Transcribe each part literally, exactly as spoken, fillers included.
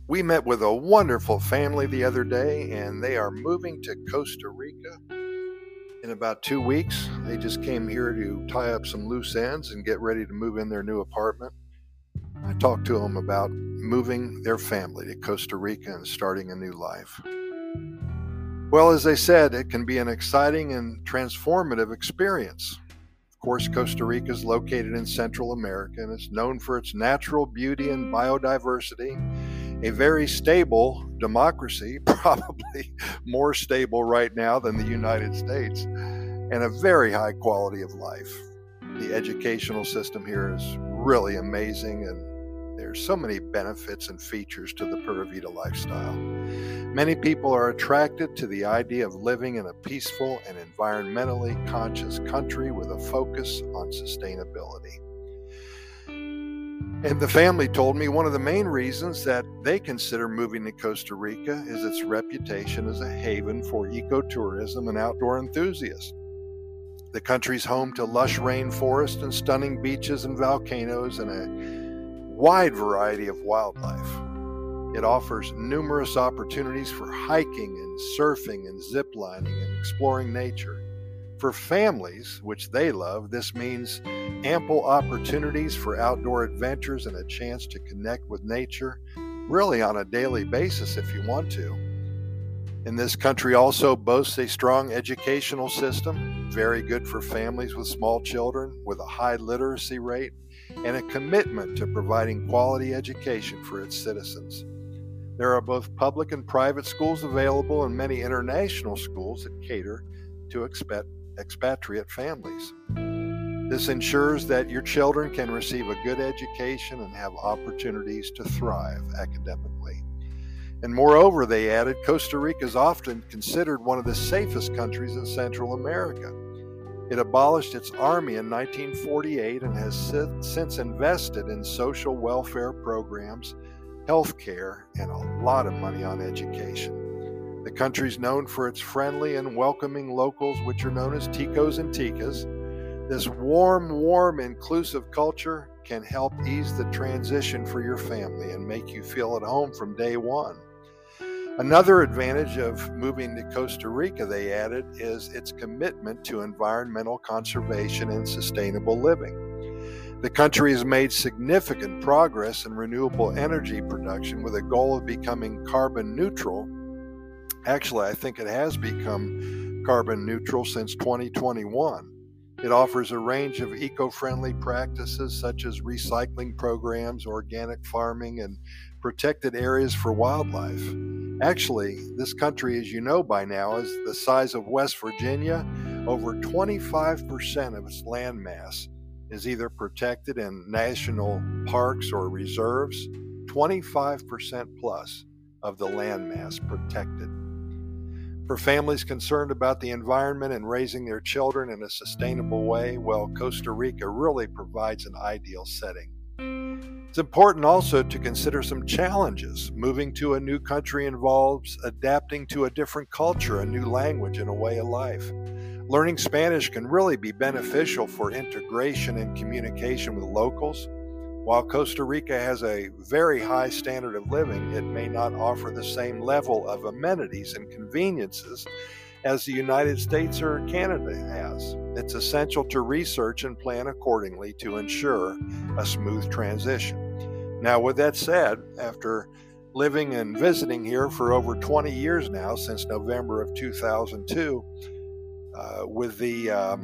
We met with a wonderful family the other day, and they are moving to Costa Rica in about two weeks. They just came here to tie up some loose ends and get ready to move in their new apartment. I talked to them about moving their family to Costa Rica and starting a new life. Well, as they said, it can be an exciting and transformative experience. Of course, Costa Rica is located in Central America and it's known for its natural beauty and biodiversity, a very stable democracy, probably more stable right now than the United States, and a very high quality of life. The educational system here is really amazing, and there's so many benefits and features to the Pura Vida lifestyle. Many people are attracted to the idea of living in a peaceful and environmentally conscious country with a focus on sustainability. And the family told me one of the main reasons that they consider moving to Costa Rica is its reputation as a haven for ecotourism and outdoor enthusiasts. The country's home to lush rainforests and stunning beaches and volcanoes and a wide variety of wildlife. It offers numerous opportunities for hiking and surfing and ziplining and exploring nature. For families, which they love, this means ample opportunities for outdoor adventures and a chance to connect with nature really on a daily basis if you want to. And this country also boasts a strong educational system, very good for families with small children, with a high literacy rate, and a commitment to providing quality education for its citizens. There are both public and private schools available and many international schools that cater to expat- expatriate families. This ensures that your children can receive a good education and have opportunities to thrive academically. And moreover, they added, Costa Rica is often considered one of the safest countries in Central America. It abolished its army in nineteen forty-eight and has since invested in social welfare programs, health care, and a lot of money on education. The country is known for its friendly and welcoming locals, which are known as ticos and ticas. This warm, warm, inclusive culture can help ease the transition for your family and make you feel at home from day one. Another advantage of moving to Costa Rica, they added, is its commitment to environmental conservation and sustainable living. The country has made significant progress in renewable energy production with a goal of becoming carbon neutral. Actually, I think it has become carbon neutral since twenty twenty-one. It offers a range of eco-friendly practices such as recycling programs, organic farming, and protected areas for wildlife. Actually, this country, as you know by now, is the size of West Virginia. Over twenty-five percent of its landmass is either protected in national parks or reserves, twenty-five percent plus of the landmass protected. For families concerned about the environment and raising their children in a sustainable way, well, Costa Rica really provides an ideal setting. It's important also to consider some challenges. Moving to a new country involves adapting to a different culture, a new language, and a way of life. Learning Spanish can really be beneficial for integration and communication with locals. While Costa Rica has a very high standard of living, it may not offer the same level of amenities and conveniences as the United States or Canada has. It's essential to research and plan accordingly to ensure a smooth transition. Now, with that said, after living and visiting here for over twenty years now, since November of two thousand two, uh, with the um,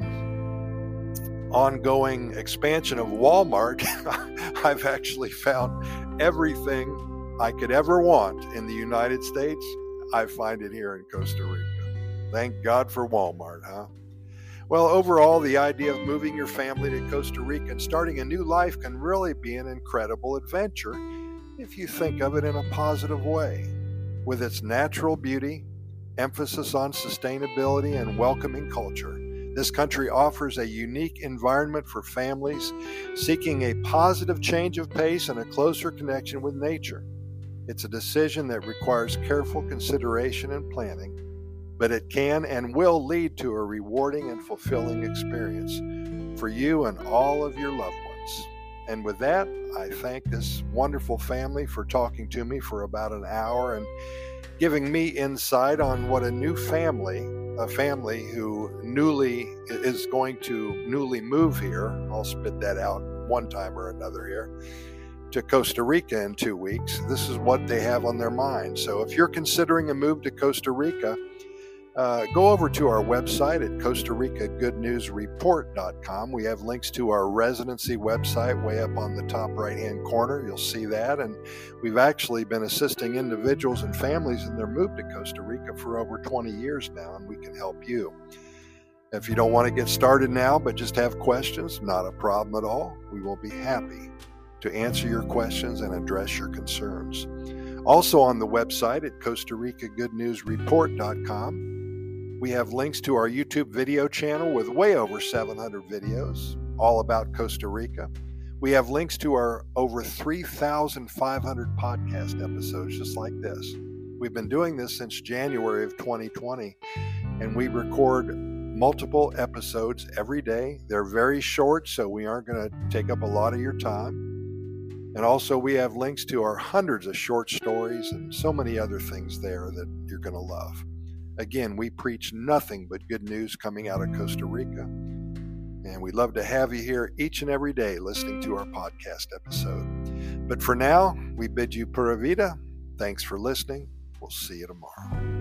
ongoing expansion of Walmart, I've actually found everything I could ever want in the United States. I find it here in Costa Rica. Thank God for Walmart, huh? Well, overall, the idea of moving your family to Costa Rica and starting a new life can really be an incredible adventure if you think of it in a positive way. With its natural beauty, emphasis on sustainability, and welcoming culture, this country offers a unique environment for families seeking a positive change of pace and a closer connection with nature. It's a decision that requires careful consideration and planning, but it can and will lead to a rewarding and fulfilling experience for you and all of your loved ones. And with that, I thank this wonderful family for talking to me for about an hour and giving me insight on what a new family, a family who newly is going to newly move here, I'll spit that out one time or another here, to Costa Rica in two weeks. This is what they have on their mind. So if you're considering a move to Costa Rica, uh, go over to our website at Costa Rica Good News Report dot com. We have links to our residency website way up on the top right-hand corner. You'll see that. And we've actually been assisting individuals and families in their move to Costa Rica for over twenty years now, and we can help you. If you don't want to get started now but just have questions, not a problem at all. We will be happy to answer your questions and address your concerns. Also on the website at Costa Rica Good News Report dot com, we have links to our YouTube video channel with way over seven hundred videos all about Costa Rica. We have links to our over three thousand five hundred podcast episodes just like this. We've been doing this since January of twenty twenty, and we record multiple episodes every day. They're very short, so we aren't going to take up a lot of your time. And also we have links to our hundreds of short stories and so many other things there that you're going to love. Again, we preach nothing but good news coming out of Costa Rica. And we'd love to have you here each and every day listening to our podcast episode. But for now, we bid you pura vida. Thanks for listening. We'll see you tomorrow.